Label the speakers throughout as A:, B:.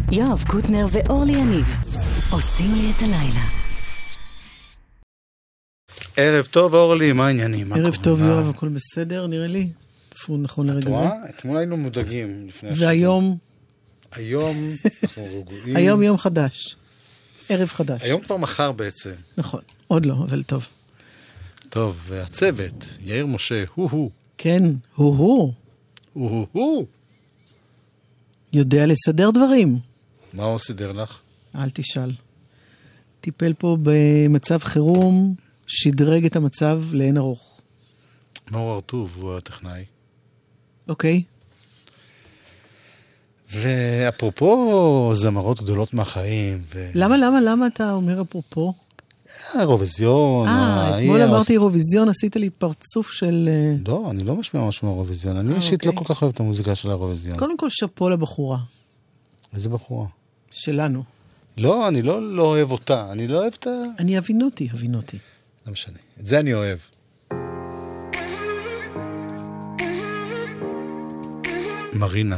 A: יואב קוטנר ואורלי יניב עושים לי את הלילה.
B: ערב טוב אורלי, מה העניינים?
C: ערב טוב יואב, הכל בסדר נראה לי? תפור נכון לרגע זה?
B: אתמול היינו מודאגים.
C: והיום?
B: היום אנחנו רגועים.
C: היום יום חדש. ערב חדש.
B: היום כבר מחר בעצם.
C: נכון, עוד לא, אבל טוב.
B: טוב, והצוות, יאיר משה, הוא.
C: כן, הוא. יודע לסדר דברים.
B: מה הוא סידר לך?
C: אל תשאל. טיפל פה במצב חירום, שדרג את המצב לאין ארוך.
B: מאור ארטוב, הוא הטכנאי.
C: אוקיי.
B: ואפרופו זמרות גדולות מהחיים.
C: למה אתה אומר אפרופו?
B: אירוויזיון.
C: אתמול אמרתי אירוויזיון, עשית לי פרצוף של...
B: לא, אני לא משמע משהו מאירוויזיון. אני אישית לא כל כך אוהב את המוזיקה של האירוויזיון.
C: קודם כל שפו לבחורה.
B: איזה בחורה?
C: שלנו.
B: לא, אני לא אוהב אותה. אני לא אוהב את ה...
C: אני הבינותי.
B: לא משנה. את זה אני אוהב. מרינה.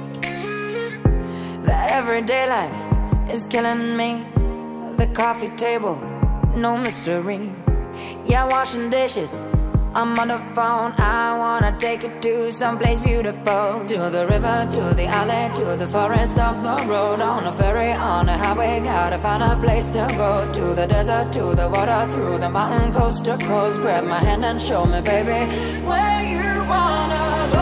D: The everyday life is killing me. The coffee table, no mystery. Yeah, washing dishes, I'm on the phone. I wanna take it to someplace beautiful. To the river, to the alley, to the forest off the road. On a ferry, on a highway, gotta find a place to go. To the desert, to the water, through the mountain, coast to coast. Grab my hand and show me, baby, where you wanna go.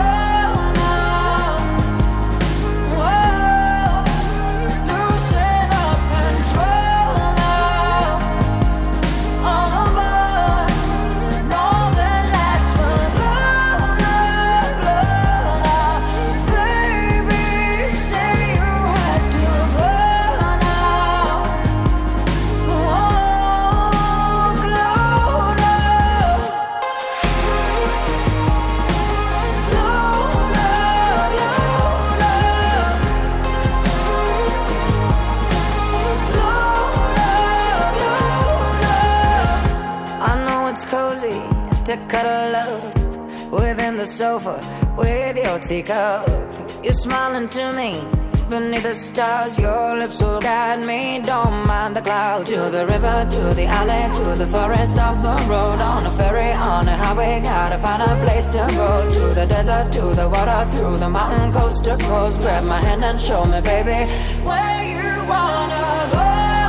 D: To cuddle up within the sofa with your teacup. You're smiling to me beneath the stars. Your lips will guide me, don't mind the clouds. To the river, to the alley, to the forest off the road. On a ferry, on a highway, gotta find a place to go. To the desert, to the water, through the mountain, coast to coast. Grab my hand and show me, baby, where you wanna go.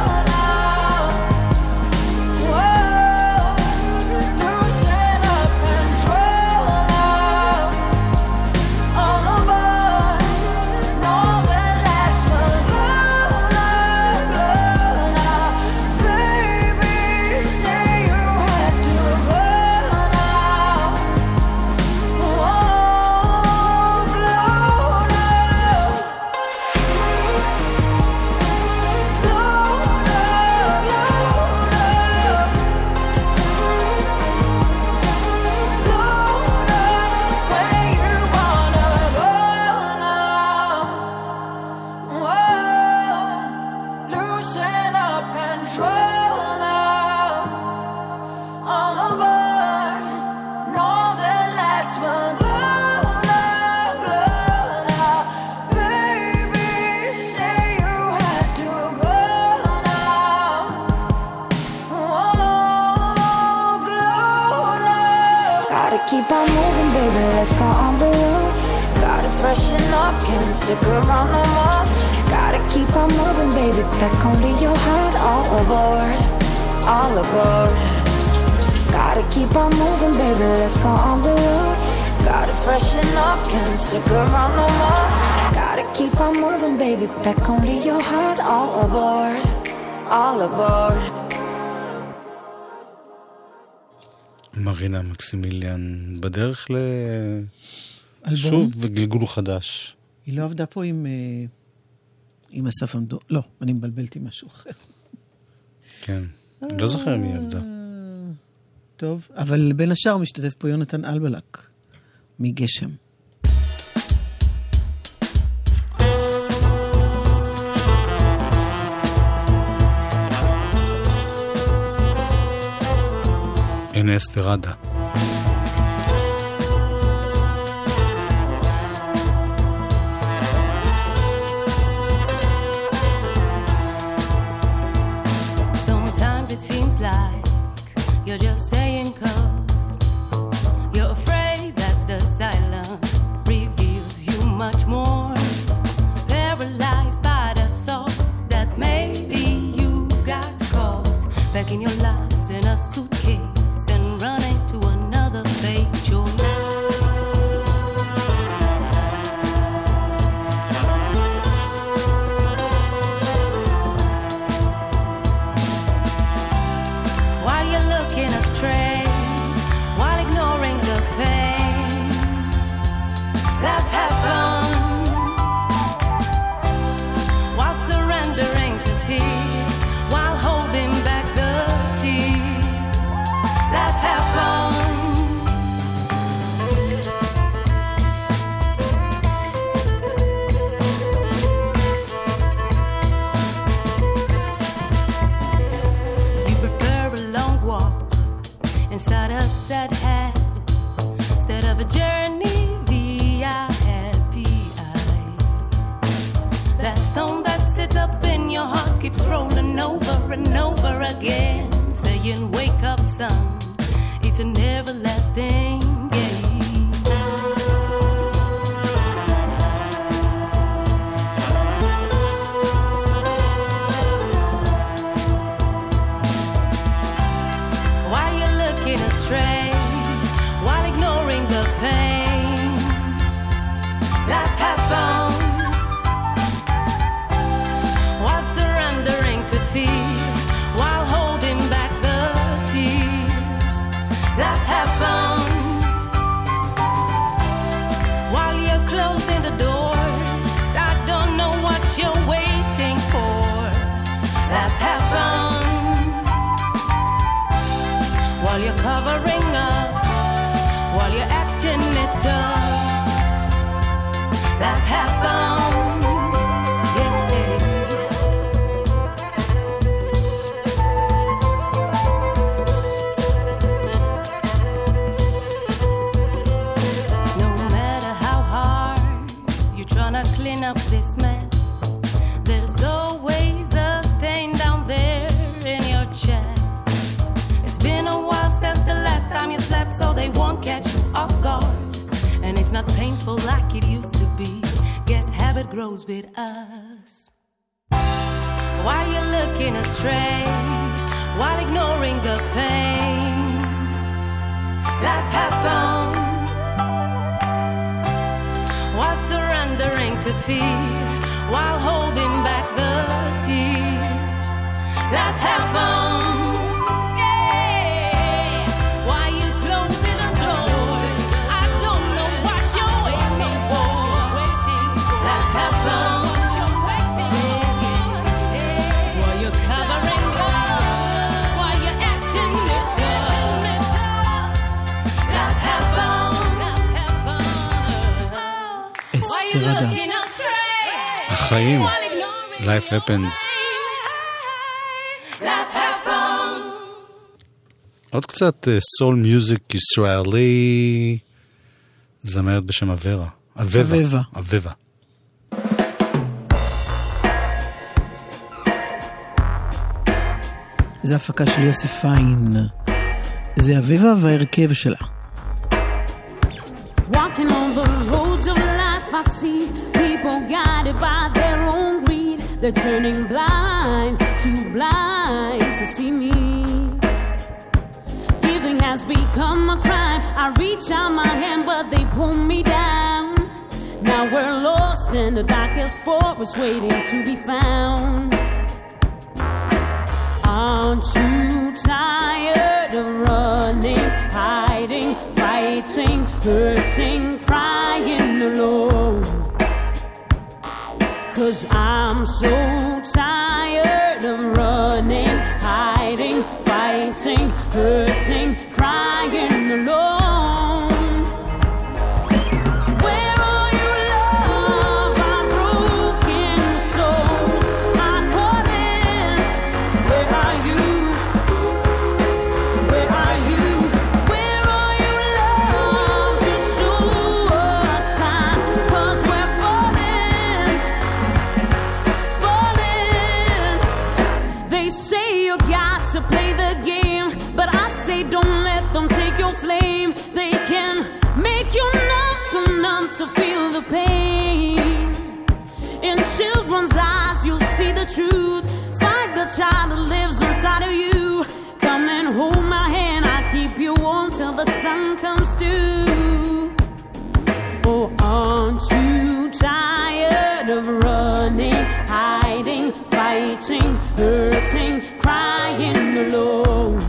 D: Keep on moving, baby, let's go on the road. Gotta freshen up, can't stick around no more. Gotta keep on moving, baby, back onto your heart. All aboard, all aboard. Gotta keep on moving, baby, let's go on the road. Gotta freshen up, can't stick around no more. Gotta keep on moving, baby, back onto your heart. All aboard, all aboard.
B: מרינה מקסימיליאן בדרך שוב וגלגול חדש.
C: היא לא עבדה פה עם אסף עמדו. לא, אני מבלבלת עם משהו אחר.
B: כן, אני לא זוכר מי עבדה.
C: טוב, אבל בין השאר משתתף פה יונתן אלבלק מגשם.
B: הנה אסתרדה.
E: you're just saying 'cause you're afraid that the silence reveals you much more. Paralyzed by the thought that maybe you got caught back in your lies in a suitcase and running to another fake choice. Astray, while ignoring the pain, life happens while surrendering to fear, while holding back the tears. Life happens. You prefer a long walk inside a sad head instead of a journey via happy eyes. That stone that sits up in your heart keeps rolling over and over again, saying wake up son, it's an everlasting game. Why you looking astray, while ignoring the pain? Life happens while surrendering to fear, while holding back the tears. Life happens while you're closing the doors. I don't know what you're waiting for. Life happens while you're covering up, while you're acting it up. Life happens, yeah. No matter how hard you're trying to clean up this mess, there's always a stain down there in your chest. It's been a while since the last time you slept, so they won't catch you off guard. And it's not painful like it used to be. Guess habit grows with us. Why you looking astray, while ignoring the pain? Life happens while surrendering to fear, while holding back the tears. Life happens.
C: תירגע.
B: החיים, life happens. עוד קצת סול מיוזיק ישראלי, זמרת בשם אבבה. אבבה.
C: זה הפקה של יוסי פיין. זה אבבה והרכב שלה.
F: Walking on the roads of life, I see people guided by their own greed. They're turning blind, too blind to see me. Giving has become a crime. I reach out my hand, but they pull me down. Now we're lost in the darkest forest, waiting to be found. Aren't you tired of running, hiding, fighting, hurting, crying alone? 'Cause I'm so tired of running, hiding, fighting, hurting, crying alone. Where are your love, our broken souls? I'm calling. Where are you? Where are you? Where are your love? Just show us sign, 'cause we're falling, falling. They say you got to play the game, but I say to feel the pain. In children's eyes, you'll see the truth. Find the child that lives inside of you. Come and hold my hand, I'll keep you warm till the sun comes through. Oh, aren't you tired of running, hiding, fighting, hurting, crying alone?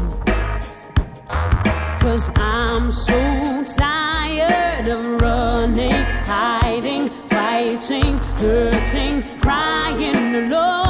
F: 'Cause I'm so tired of running, hiding, fighting, hurting, crying alone.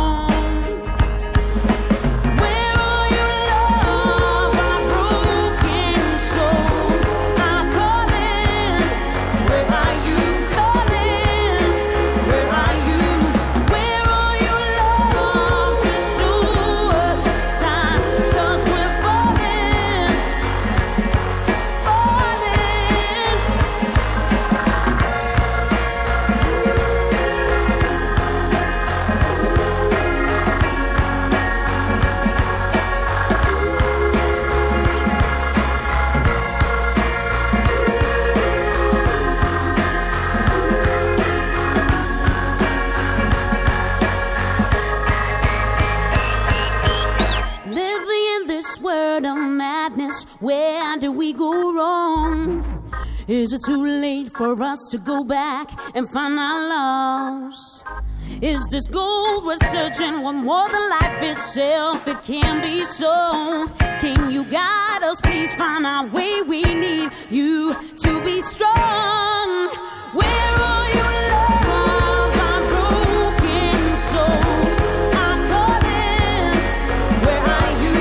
F: Where did we go wrong? Is it too late for us to go back and find our loss? Is this gold we're searching one more than life itself? It can't be so. Can you guide us? Please find our way. We need you to be strong. Where are you, love? Our broken souls are calling. Where are you?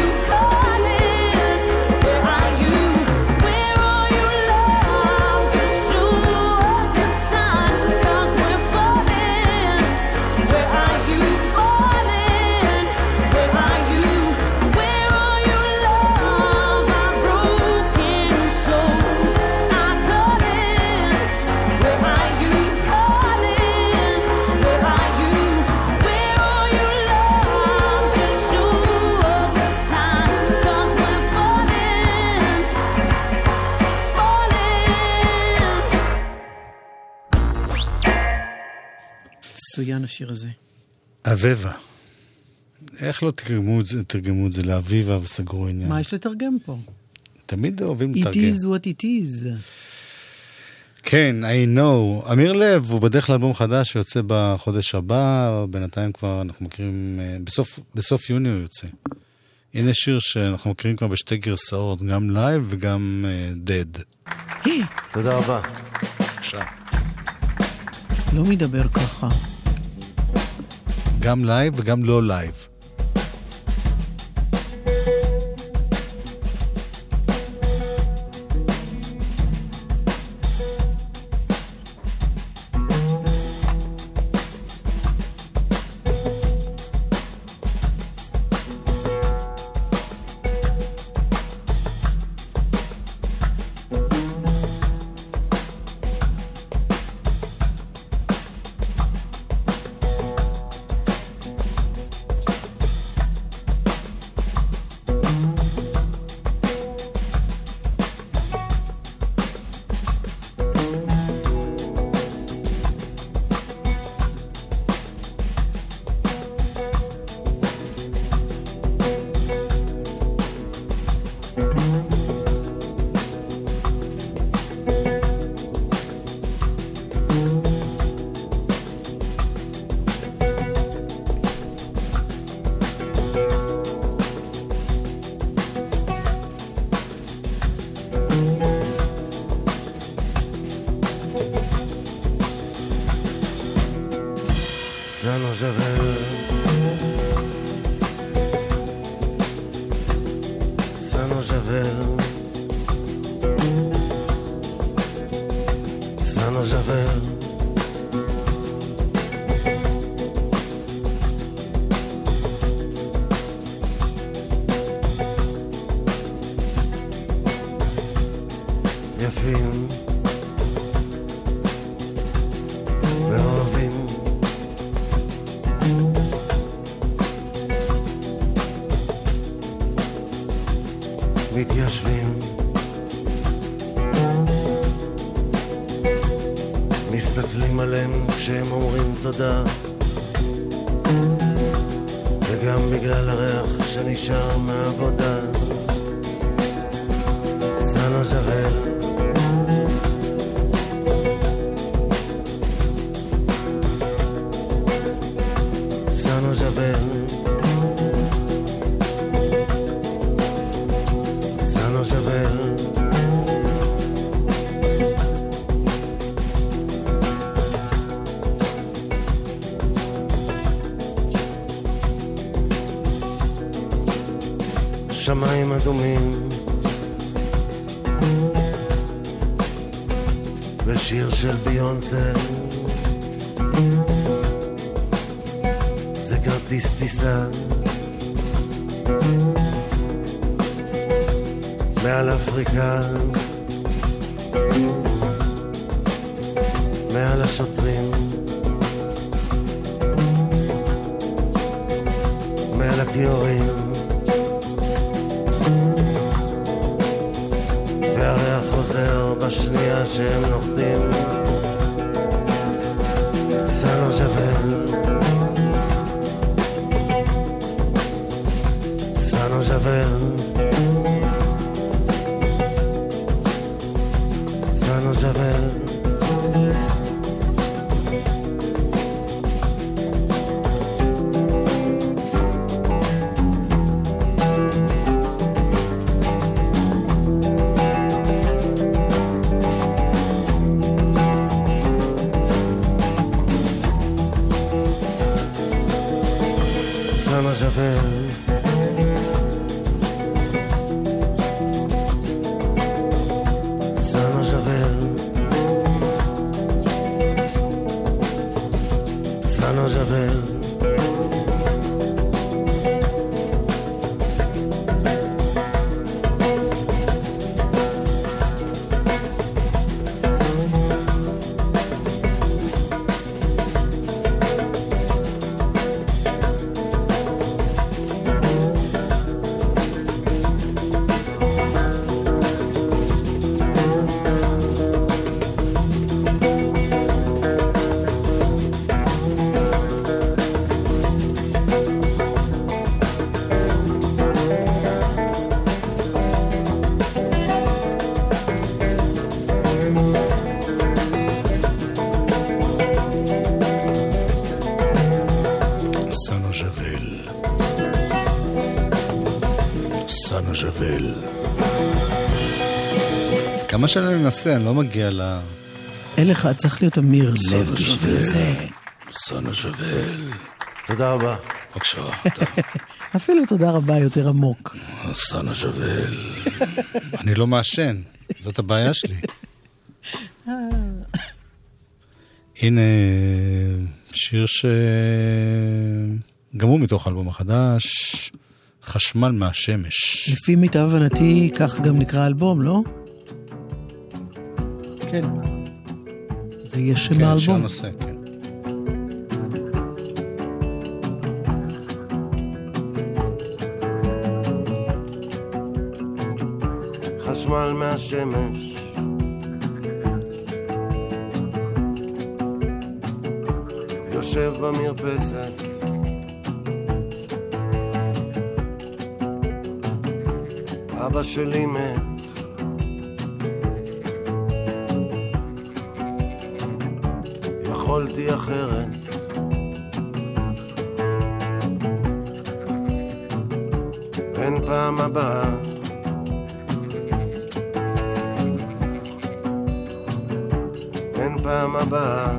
C: מצוין השיר הזה.
B: אביבה. איך לא תרגמו את זה לאביבה וסגרו עניין?
C: מה יש לתרגם פה?
B: תמיד אוהבים
C: לתרגם. It is what it is.
B: כן, I know. אמיר לב הוא בדרך לאלבום חדש שיוצא בחודש הבא, בינתיים כבר אנחנו מכירים, בסוף יוני הוא יוצא. הנה שיר שאנחנו מכירים כבר בשתי גרסאות, גם לייב וגם dead.
G: תודה רבה.
B: עכשיו.
C: לא מדבר ככה.
B: גם לייב וגם לא לייב.
G: מתיישבים שהם אומרים תודה, וגם בגלל הריח שנשאר מהעבודה. סנו ז'בל, סנו ז'בל, סנו ז'בל, שמיים אדומים ושיר של ביונסה, זה כרטיס טיסה מעל אפריקה, מעל השוטרים, מעל הכיורים, והריח חוזר בשנייה שהם נוחתים. סנו ז'בל, סנו ז'בל, סנו ז'בל,
B: סנו ז'בל. כמה שאני ננסה, אני לא מגיע ל...
C: אין לך, צריך להיות אמיר לב בשביל זה.
B: סנו ז'בל.
G: תודה רבה.
B: בבקשה.
C: אפילו תודה רבה יותר עמוק.
B: סנו ז'בל. אני לא מעשן, זאת הבעיה שלי. הנה שיר שגם הוא מתוך האלבום החדש, חשמל מהשמש.
C: לפי מיטב הבנתי, כך גם נקרא האלבום, לא? כן. זה יהיה שם האלבום.
B: כן, שהנושא, כן.
G: חשמל מהשמש, יושב במרפסת, אבא שלי מת, יכולתי אחרת, אין פעם הבאה, אין פעם הבאה,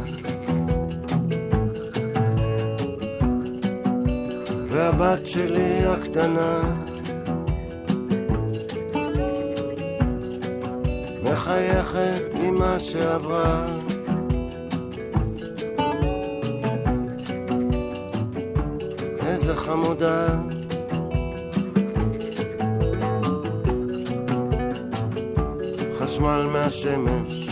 G: והבת שלי הקטנה מחייכת עם מה שעברה, איזה חמודה, חשמל מהשמש,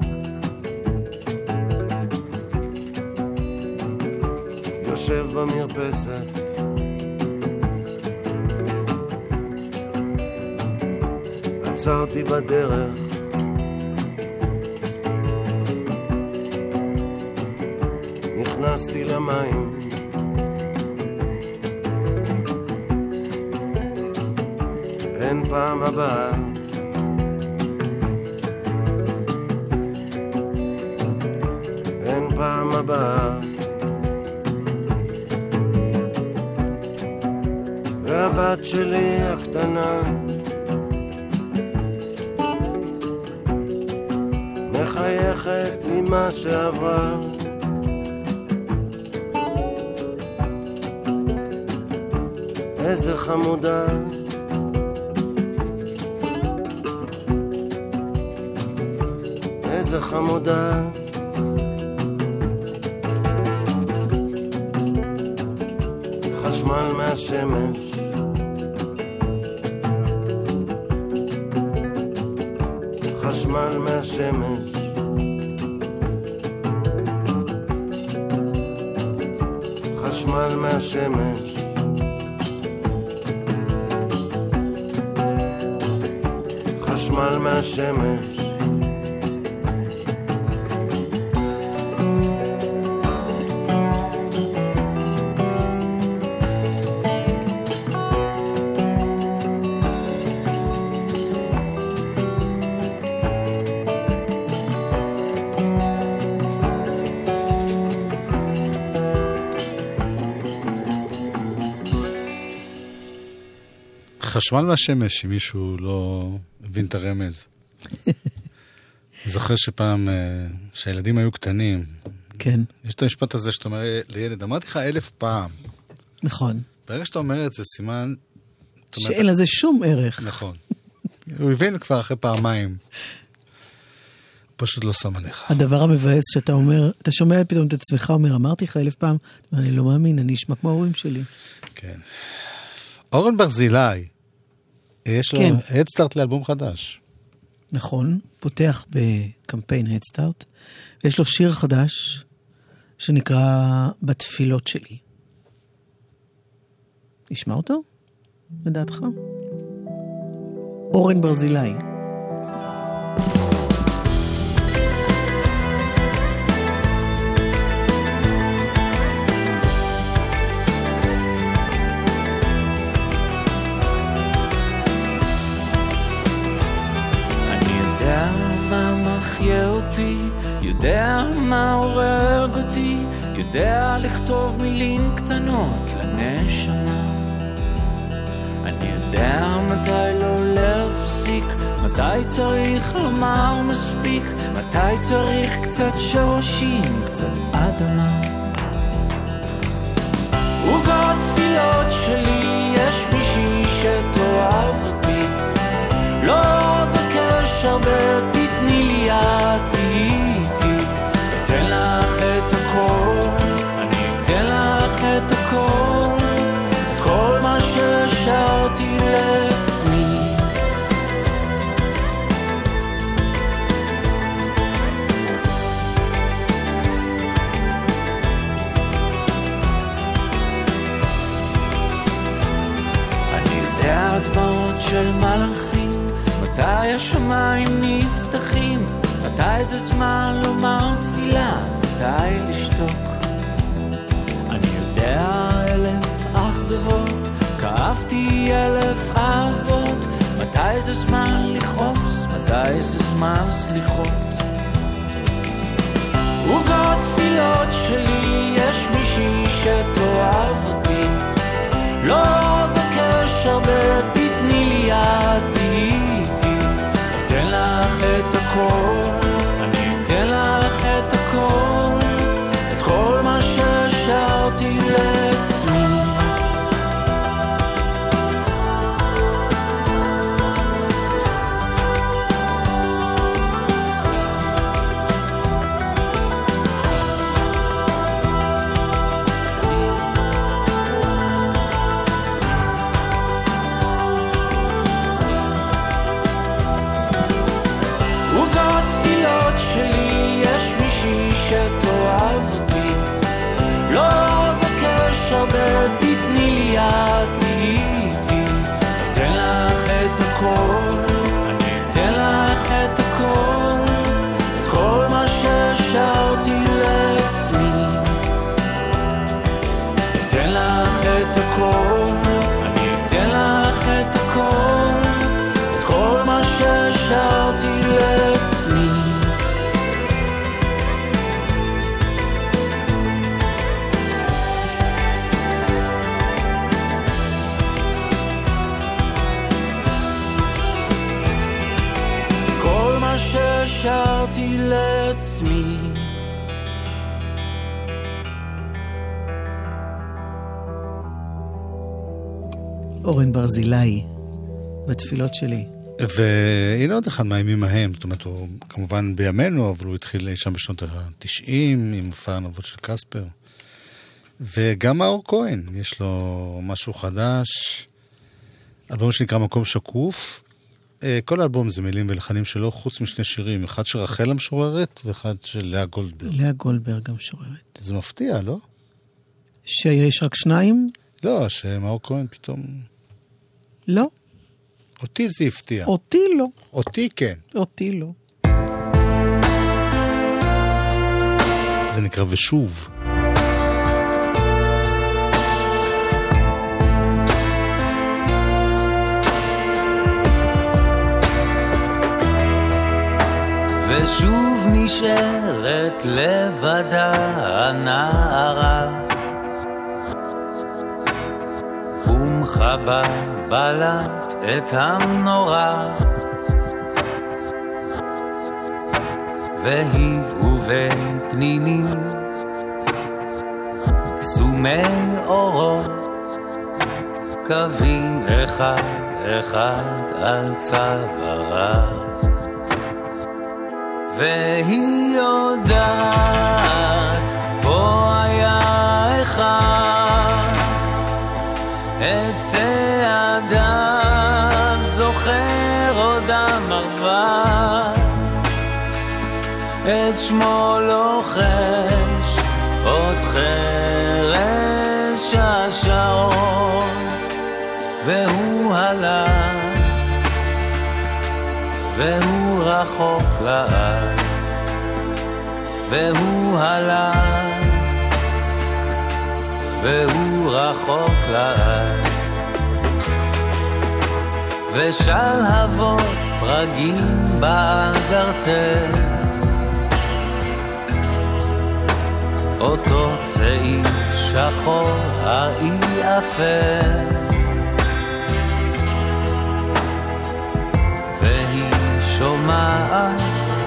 G: יושב במרפסת, עצרתי בדרך, נכנסתי למים. אין פעם הבאה, אין פעם הבאה. והבת שלי הקטנה מחייכת עם מה שעברה. איזה חמודה, איזה חמודה. חשמל מהשמש, חשמל מהשמש. חשמל מהשמש. חשמל מהשמש.
B: חשמל מהשמש, אם מישהו לא הבין את הרמז. זוכר שפעם, שהילדים היו קטנים,
C: כן.
B: יש את המשפט הזה שאתה אומר לילד, אמרתי לך 1000 פעם.
C: נכון.
B: ברגע שאתה אומר את זה, סימן...
C: שאין לזה שום ערך.
B: נכון. הוא הבין כבר אחרי פעמיים. פשוט לא שם עליך.
C: הדבר המבאס שאתה אומר, אתה שומע פתאום את עצמך, אומר, אמרתי לך 1000 פעם, אני לא מאמין, אני אשמע כמו ההורים שלי. כן.
B: אורן ברזילי, יש לו הדסטארט לאלבום חדש.
C: נכון, פותח בקמפיין הדסטארט, ויש לו שיר חדש שנקרא בתפילות שלי. נשמע אותו? לדעתך? אורן ברזילי.
H: יודע מה הורג אותי, יודע לכתוב מילים קטנות לנשמה. אני יודע מתי לא להפסיק, מתי צריך לומר מספיק, מתי צריך קצת שורשים, קצת אדמה. ובתפילות שלי יש מישהי שתאהב אותי, לא אבקש הרבה, תתני לי יד, אתן לך את הכל, אני אתן לך את הכל, את כל מה ששרתי לעצמי. אני יודע דמעות של מלאכים, מתי השמיים נפתחים, מתי זה זמן לומר תפילה, מתי לשתוק. אני יודע 1000 אכזבות, כאבתי 1000 אהבות, מתי זה זמן לכעוס, מתי זה זמן סליחות. ובתפילות שלי יש מישהי שתאהב אותי, לא אבקש הרבה, תתני לי יד, אתן לך את הכל, אני אתן לך את הכל, את כל מה ששרתי לעצמי. שלי יש מישהי שתאהב אותי, לא אבקש הרבה, תתני לי יד, אתן לך את הכל, אני אתן לך את הכל, את כל מה ששרתי לעצמי. את הכל, אני אתן לך את הכל, את כל מה ששרתי לעצמי. כל מה ששרתי לעצמי.
C: אורן ברזילי, בתפילות שלי.
B: והנה עוד אחד מהימים ההם, זאת אומרת, הוא כמובן בימינו, אבל הוא התחיל שם בשנות ה-90, עם מופע הנבות של קספר. וגם מאור כהן, יש לו משהו חדש, אלבום שנקרא מקום שקוף. כל האלבום זה מילים ולחנים שלו, חוץ משני שירים, אחד של רחל המשוררת, ואחד של לאה גולדברג.
C: לאה גולדברג המשוררת.
B: זה מפתיע, לא?
C: שיש רק שניים?
B: לא, שמאור כהן פתאום...
C: לא.
B: אותי זה הפתיע.
C: אותי לא.
B: אותי כן.
C: אותי לא.
B: זה נקרא ושוב.
I: ושוב נשארת לבדה הנערה, ומחבה בלט את המנורה, והיבאו ופנינים קסומי אורות, קווים אחד אחד על צווארה, והיא יודעת פה היה אחד, את צעדיו זוכר עוד המרווה, את שמו לוחש עוד חרש השעון, והוא הלך והוא רחוק לעד, והוא הלך והוא רחוק לעד, ושלהבות פרגים באגרטל, אותו צעיף שחור האי אפל, והיא שומעת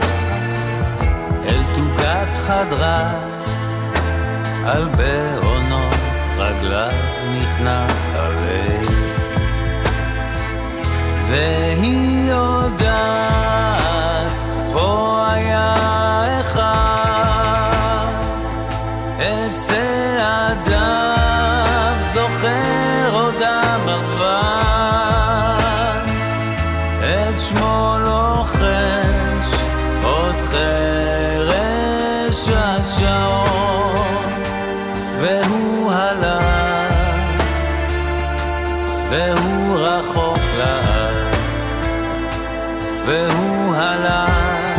I: אל תוגת חדרה, על בעונות רגלה נכנס הלב, והיא יודעת פה היה אחד, את צעדיו זוכר עוד המרווה, את שמו לוחש עוד חרש השעון, והוא הלך והוא רחוק לעד, והוא הלך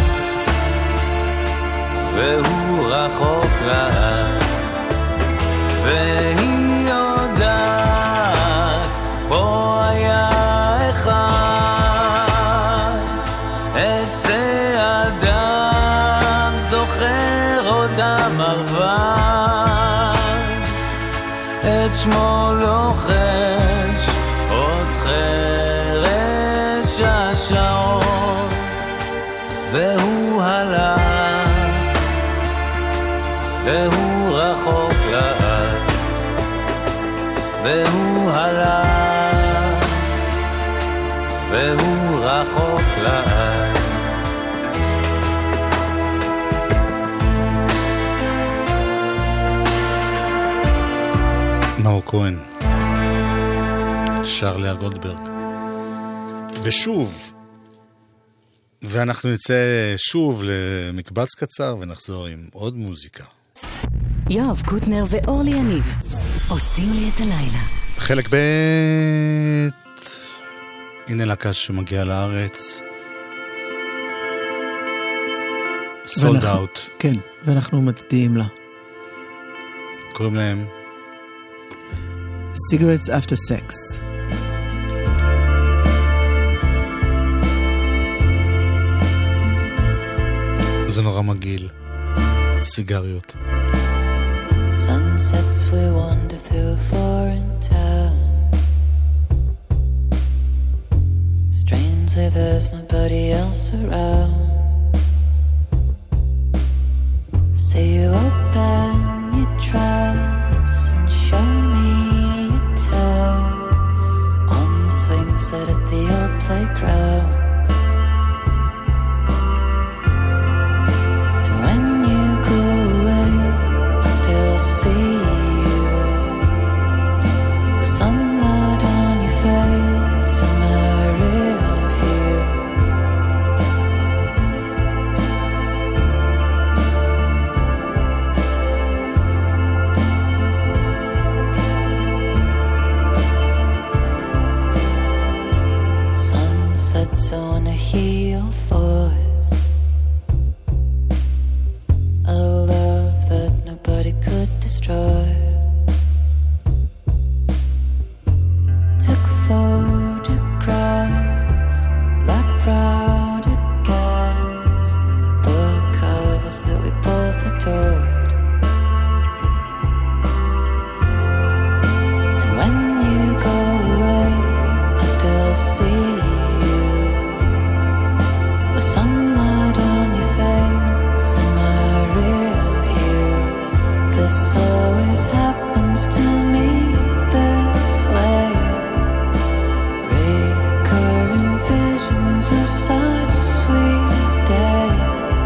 I: והוא רחוק לעד, והיא יודעת פה היה אחד, את צעדיו זוכר עוד המרווה, את שמו לוחש עוד חרש השעון, והוא הלך והוא רחוק לעד, והוא הלך והוא רחוק לעד.
B: מאור כהן, שר לאה גולדברג. ושוב, ואנחנו נצא שוב למקבץ קצר ונחזור עם עוד מוזיקה.
A: יואב קוטנר ואורלי יניב עושים לי את הלילה.
B: חלק ב', הנה להקה שמגיעה לארץ, סולד אאוט.
C: כן, ואנחנו מצדיעים לה.
B: קוראים להם
C: Cigarettes After Sex.
B: זה נורא מגעיל. סיגריות.
J: Sunsets we wander through a foreign town. Strangely there's nobody else around. Say you open your trust and show me your toes on the swing set at the old playground. And when you go away, I still see you, with sunlight on your face and my real view. Sunsets, I wanna hear your voice, a love that nobody could destroy. Took photographs like proud guys, book covers that we both adored. And when you go away, I still see you, with sunlight on your face and my rear view. This always happens to me this way. Recurring visions of such sweet days.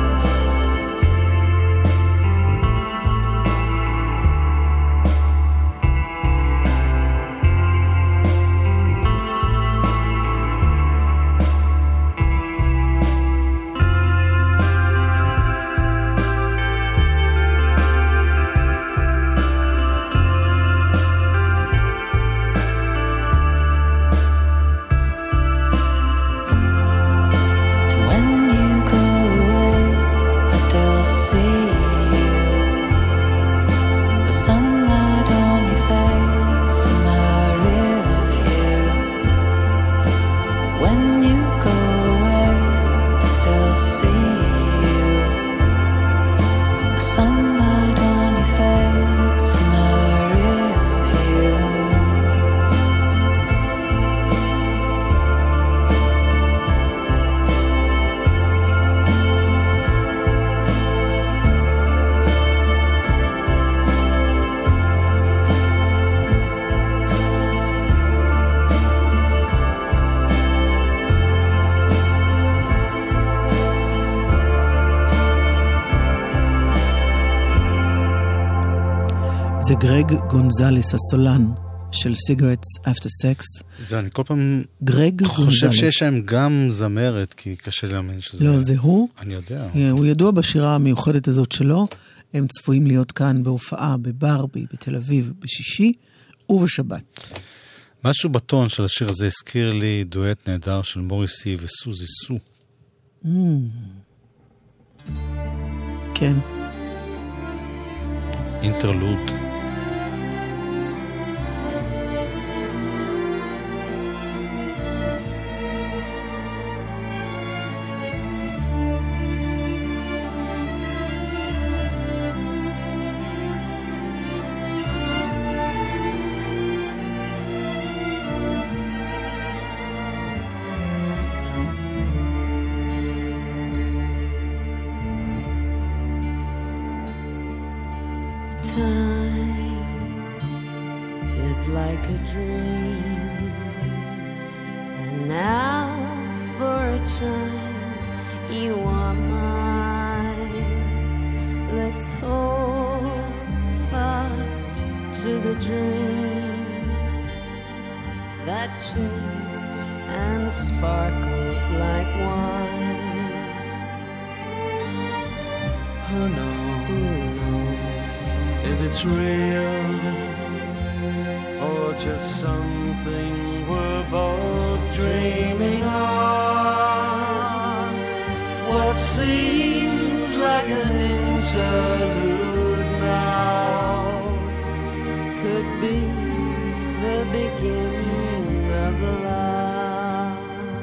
J: And when you go away, I still see you, with sunlight on your face and my rear view. When you go away, I still see you, with sunlight on your face and my rear view.
C: זה גרג גונזלס, הסולן של Cigarettes After Sex.
B: זה אני כל פעם
C: גרג
B: חושב
C: גונזלס.
B: שיש להם גם זמרת, כי קשה להאמין שזה...
C: לא, זה הוא.
B: אני יודע.
C: הוא ידוע בשירה המיוחדת הזאת שלו. הם צפויים להיות כאן בהופעה בברבי, בתל אביב, בשישי ובשבת.
B: משהו בטון של השיר הזה הזכיר לי דואט נהדר של מוריסי וסוזי סו.
C: כן.
B: אינטרלוד.
K: Like a dream, and now for a time you are mine. Let's hold fast to the dream that tastes and sparkles like wine.
H: Who knows if it's real or just something we're both dreaming of.
K: What seems like an interlude now could be the beginning of love.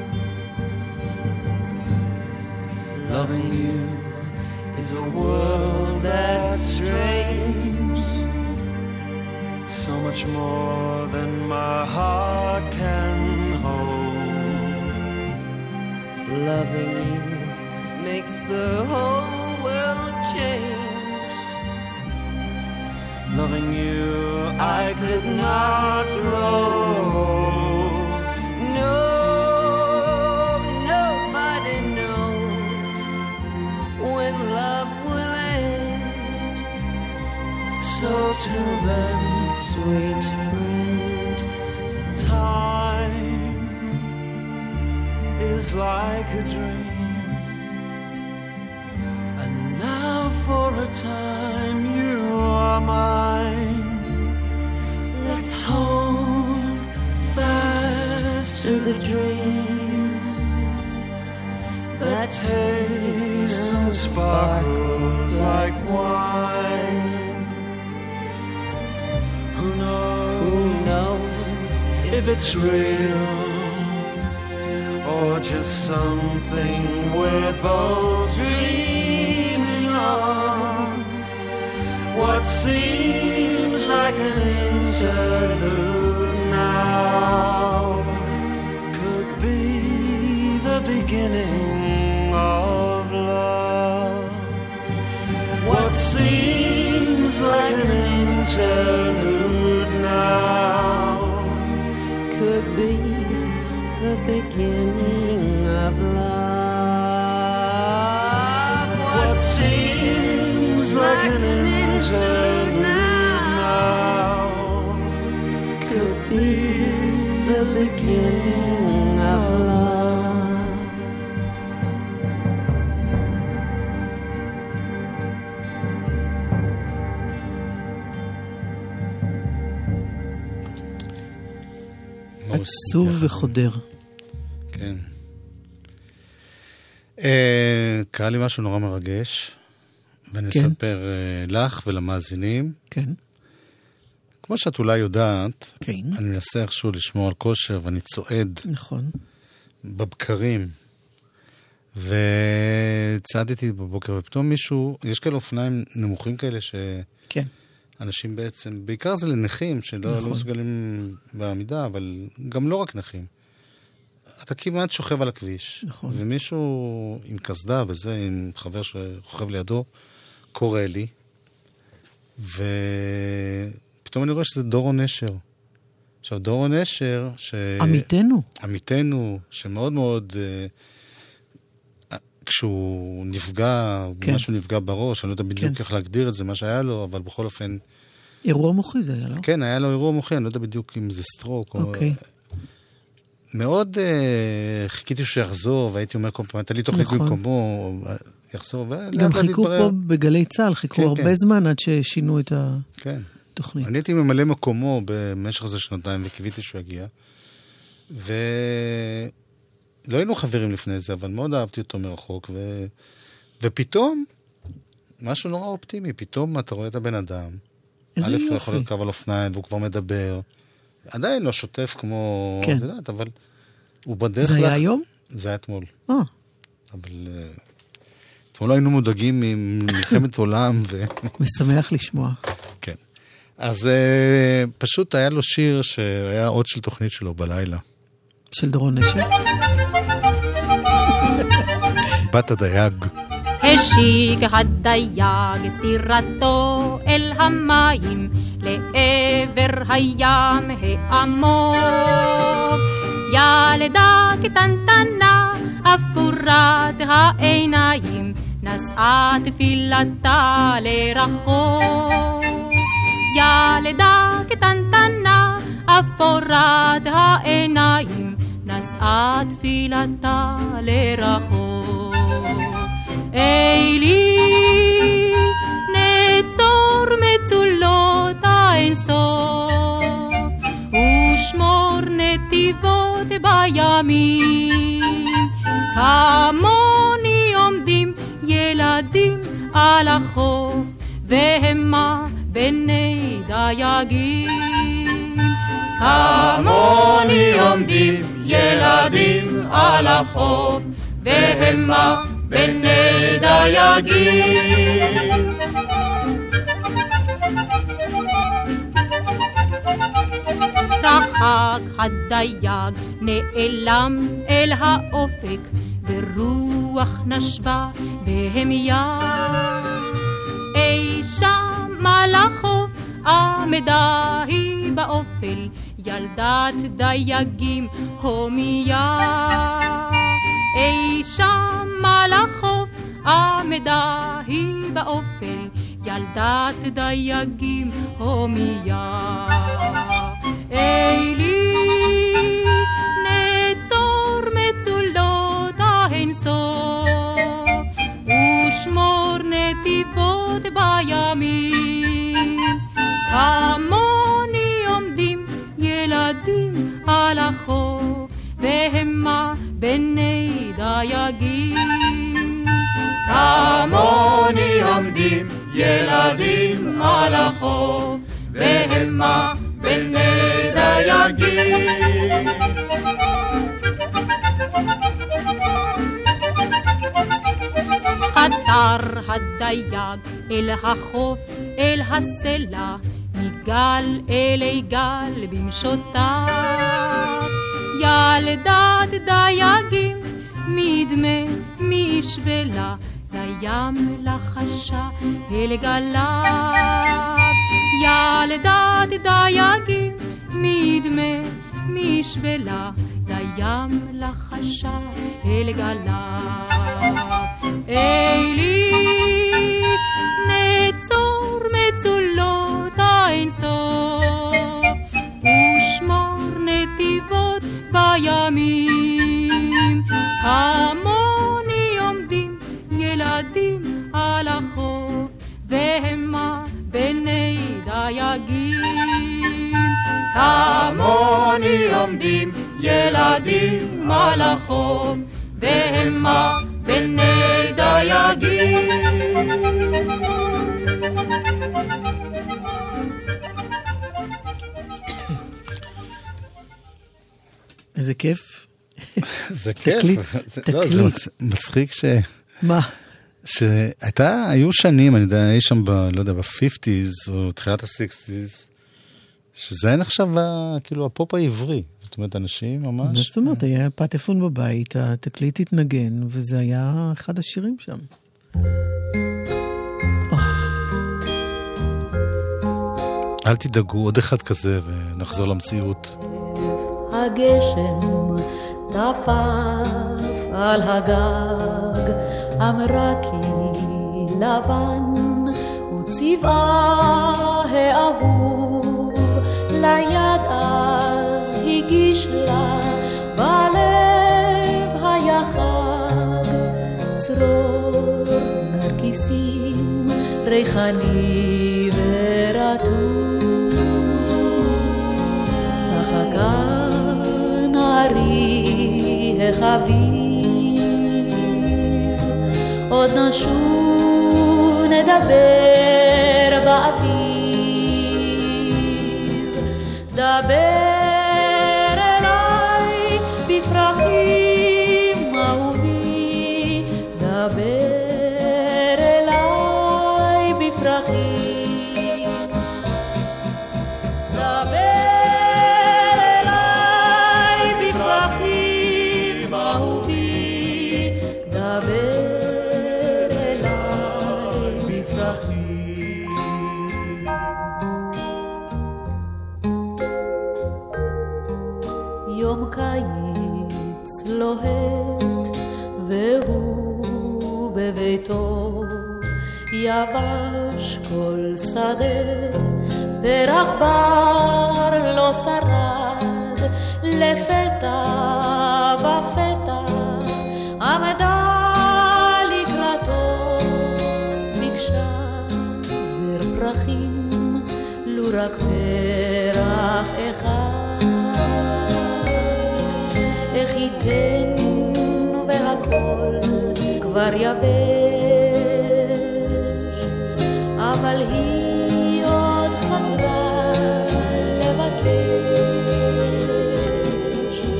H: Loving you is a world that's strange, so much more than my heart can hold.
K: Loving you makes the whole world change.
H: Loving you, I could not grow.
K: No, nobody knows when love will end.
H: So till then,
K: sweet friend,
H: time is like a dream. And now for a time you are mine. Let's hold fast
K: to the dream
H: that tastes and sparkles like wine. Who knows if it's real or just something we're both dreaming of. What seems like an interlude now could be the beginning of love. What seems like an interlude now
K: could be the beginning of love.
H: What seems like an interlude now could be
K: the beginning of love.
C: עצוב וחודר.
B: כן. קרה לי משהו נורא מרגש, ואני אספר לך ולמאזינים.
C: כן.
B: כמו שאת אולי יודעת,
C: כן.
B: אני מנסה איכשהו לשמור על כושר, ואני צועד.
C: נכון.
B: בבקרים. וצעדתי בבוקר, ופתאום מישהו, יש כאלה אופניים נמוכים כאלה
C: כן.
B: אנשים בעצם, בעיקר זה לנכים, שלא לא מסוגלים בעמידה, אבל גם לא רק נכים. אתה כמעט שוכב על הכביש.
C: נכון.
B: ומישהו עם קסדה וזה, עם חבר שרוכב לידו, קורא לי, ופתאום אני רואה שזה דורון נשר. עכשיו, דורון נשר, עמיתנו, שמאוד מאוד, כשהוא נפגע, משהו נפגע בראש, אני לא יודע בדיוק איך להגדיר את זה, מה שהיה לו, אבל בכל אופן...
C: אירוע מוחי זה היה לו?
B: כן, היה לו אירוע מוחי, אני לא יודע בדיוק אם זה סטרוק או... מאוד חיכיתי שיחזור, והייתי אומר כל פעם, הייתה לי תוכנית במקומו, יחזור,
C: גם חיכו פה בגלי צהל, חיכו הרבה זמן עד ששינו את התוכנית.
B: אני הייתי ממלא מקומו במשך איזה שנתיים, וקיוויתי שהוא יגיע, ולא היינו חברים לפני זה, אבל מאוד אהבתי אותו מרחוק, ופתאום, משהו נורא אופטימי, פתאום אתה רואה את הבן אדם,
C: איזה יופי.
B: יכול לרכב על אופניים, והוא כבר מדבר, עדיין לא שוטף כמו...
C: כן.
B: יודעת, אבל הוא בדרך...
C: זה היה היום?
B: זה היה אתמול. אבל אתמול היינו מודאגים ממלחמת עולם
C: משמח לשמוע.
B: כן. אז פשוט היה לו שיר שהיה עוד של תוכנית שלו בלילה.
C: של דורון נשר?
B: בת הדייג.
L: השיג הדייג סירתו אל המים לעבר הים העמוק. ילדה קטנטנה אפורת העיניים נשאה תפילתה לרחוק. ילדה קטנטנה אפורת העיניים נשאה תפילתה לרחוק. אלי נצור מצולות האינסוף ושמור נתיבות בימים. כמוני עומדים ילדים על החוף והמה בני דייגים.
H: עומדים ילדים על החוף, והמה בני דייגים.
L: רחק הדייג נעלם אל האופק, ורוח נשבה בהמיה. אי שם על החוף עמדה היא באופל, ילדת דייגים הומיה. אי שם על החוף עמדה היא באופל, ילדת דייגים הומיה. אלי נצור מצולות האינסוף, ושמור נתיבות בימים. כמוני עומדים ילדים על החוף, והמה בני דייגים.
H: כמוני עומדים ילדים על החוף, והמה בני דייגים.
L: חתר הדייג אל החוף, אל הסלע, מגל אלי גל במשותיו. ילדת דייגים מדמה משבלה, לים לחשה אל גליו. ילדת דייגים מדמה משבלה, לים לחשה אל גליו. אלי נצור מצולות האינסוף, ושמור נתיבות בימים. כמוני עומדים ילדים על החוף, והמה בני דייגים.
H: כמוני עומדים ילדים על החוף, והמה בני דייגים.
C: איזה כיף.
B: זה כיף.
C: תקליט.
B: זה מצחיק
C: מה?
B: היו שנים, אני יודע, אי שם לא יודע, ב-50s או תחילת ה-60s, שזה היה נחשב כאילו הפופ העברי. זאת אומרת, אנשים ממש...
C: זאת אומרת, היה פטפון בבית, התקליט התנגן, וזה היה אחד השירים שם.
B: אל תדאגו, עוד אחד כזה, ונחזור למציאות.
J: הגשם טפף על הגג, אמרה כי לבן וצבעה האהוב, ליד אז הגיש לה בלב היה חג, צרור נרקיסים ריחני ורטוב, וחגה נערי החביב, עוד נשוב נדבר באביב, דבר אליי בפרחים אהובי, דבר אליי בפרחים, דבר אליי בפרחים אהובי, דבר אליי בפרחים. יום קיץ לוהט והוא בביתו, יבש כל שדה, פרח בר לא שרד, לפתע בפתח עמדה לקראתו, ביקשה זר פרחים, לו רק פרח אחד, איך ייתן והכל כבר יבש, אבל היא עוד חזרה לבקש,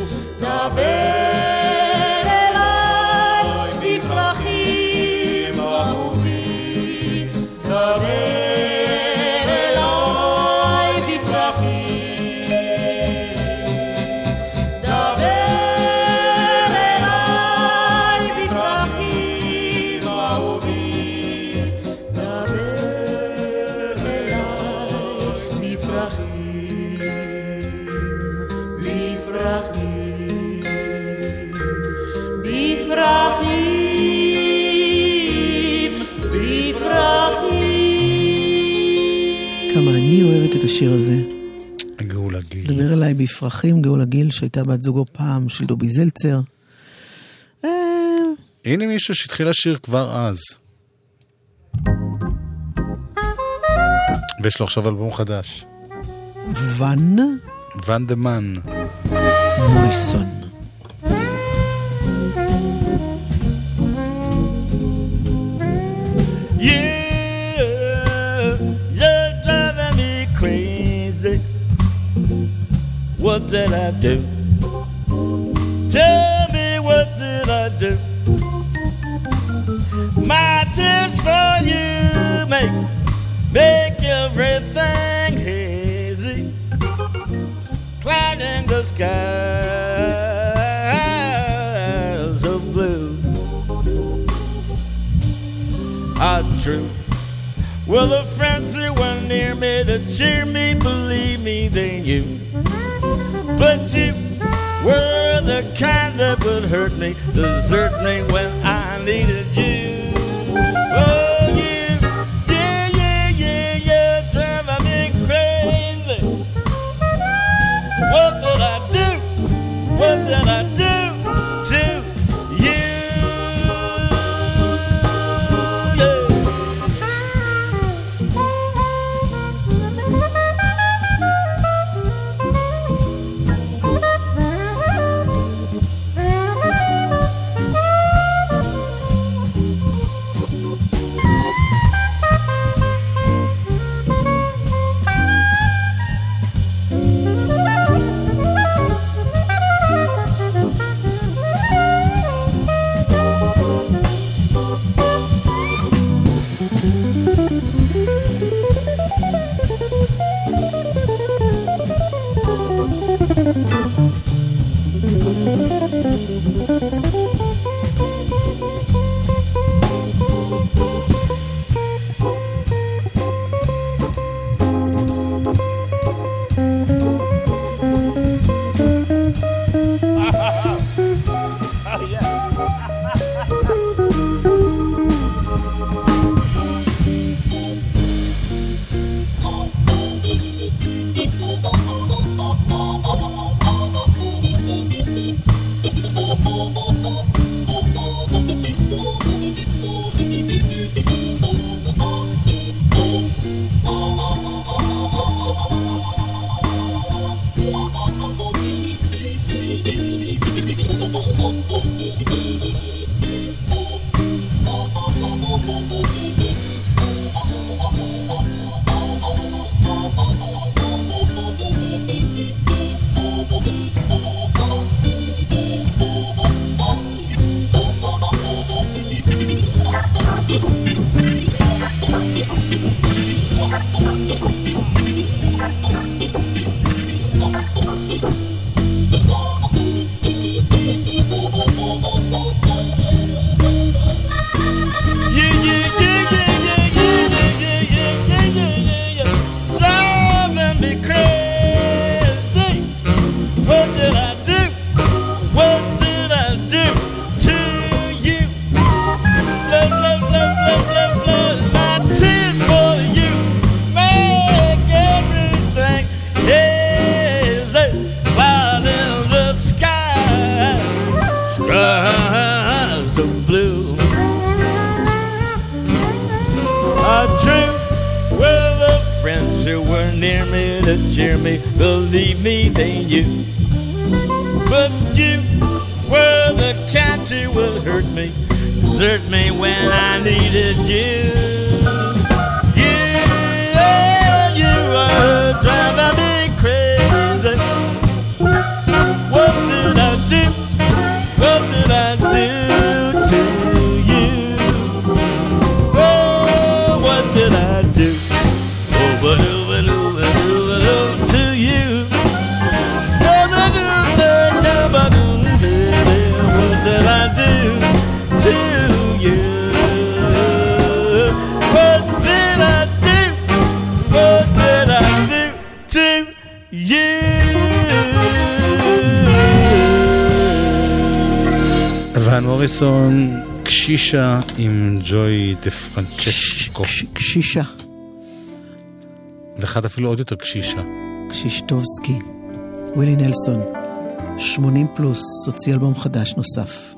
C: השיר הזה.
B: גאולה גיל.
C: דבר אליי בפרחים, גאולה גיל, שהייתה בת זוגו פעם של דובי זלצר.
B: הנה מישהו שהתחיל לשיר כבר אז. ויש לו עכשיו אלבום חדש. ואן דה מן.
C: מוריסון.
M: You're driving me crazy. What did I do? Tell me, what did I do? My tears for you make everything hazy, clouding the skies of blue. How true were the friends who were near me to cheer me, believe me, they knew. But you were the kind that would hurt me, desert me when I needed you. Oh, you, yeah, driving me crazy. What did I do? What did I do to you? Believe me, they knew. But you were the kind who would hurt me, desert me when I needed you. You were driving me crazy. What did I do? What did I do to you? Oh, what did I do? Oh, but to you. What did I do to you? What did I do? What did I do to you?
B: ואן מוריסון, קשישה עם ג'וי דה פרנצ'סקו.
C: קשישה.
B: אחד אפילו עוד יותר קשישה.
C: קשישטובסקי, ווילי נלסון, 80 פלוס, הוציא אלבום חדש נוסף.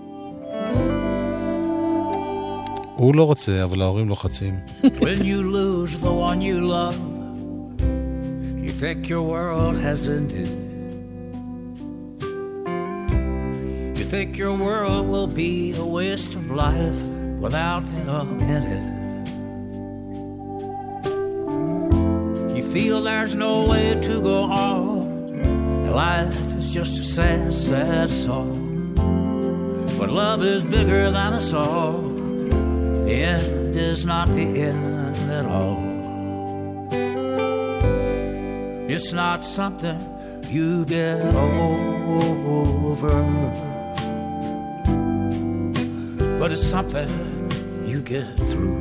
B: הוא לא רוצה, אבל ההורים לוחצים.
H: When you lose the one you love, you think your world has ended. You think your world will be a waste of life without them in it. You feel there's no way to go on. Life is just a sad, sad song. But love is bigger than a song. The end is not the end at all. It's not something you get over, but it's something you get through.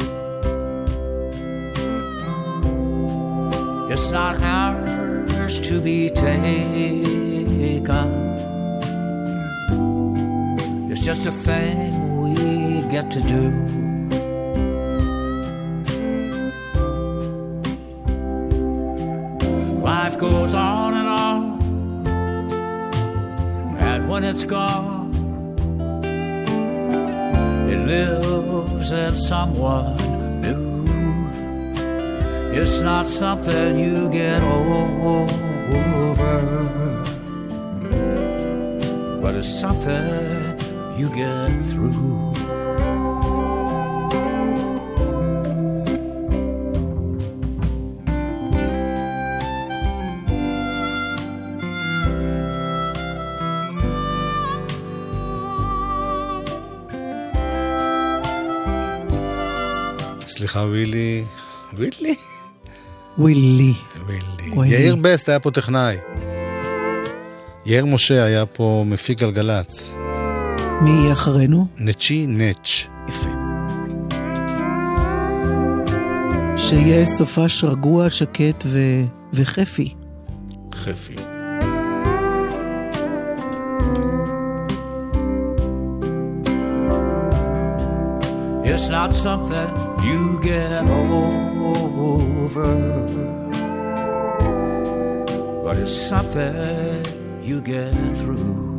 H: It's not ours to be taken. It's just a thing we get to do. Life goes on, and when it's gone, it lives in someone new. It's not something you get over, but it's something you get through.
B: סליחה, ווילי. ווילי?
C: ווילי.
B: ווילי. יאיר בסט היה פה טכנאי. יאיר משה היה פה מפיק גלגלץ.
C: מי יהיה אחרינו?
B: נצ'י נץ'.
C: יפה. שיהיה סופש רגוע, שקט וחפי.
B: חפי.
H: It's not something you get over, but it's something you get through.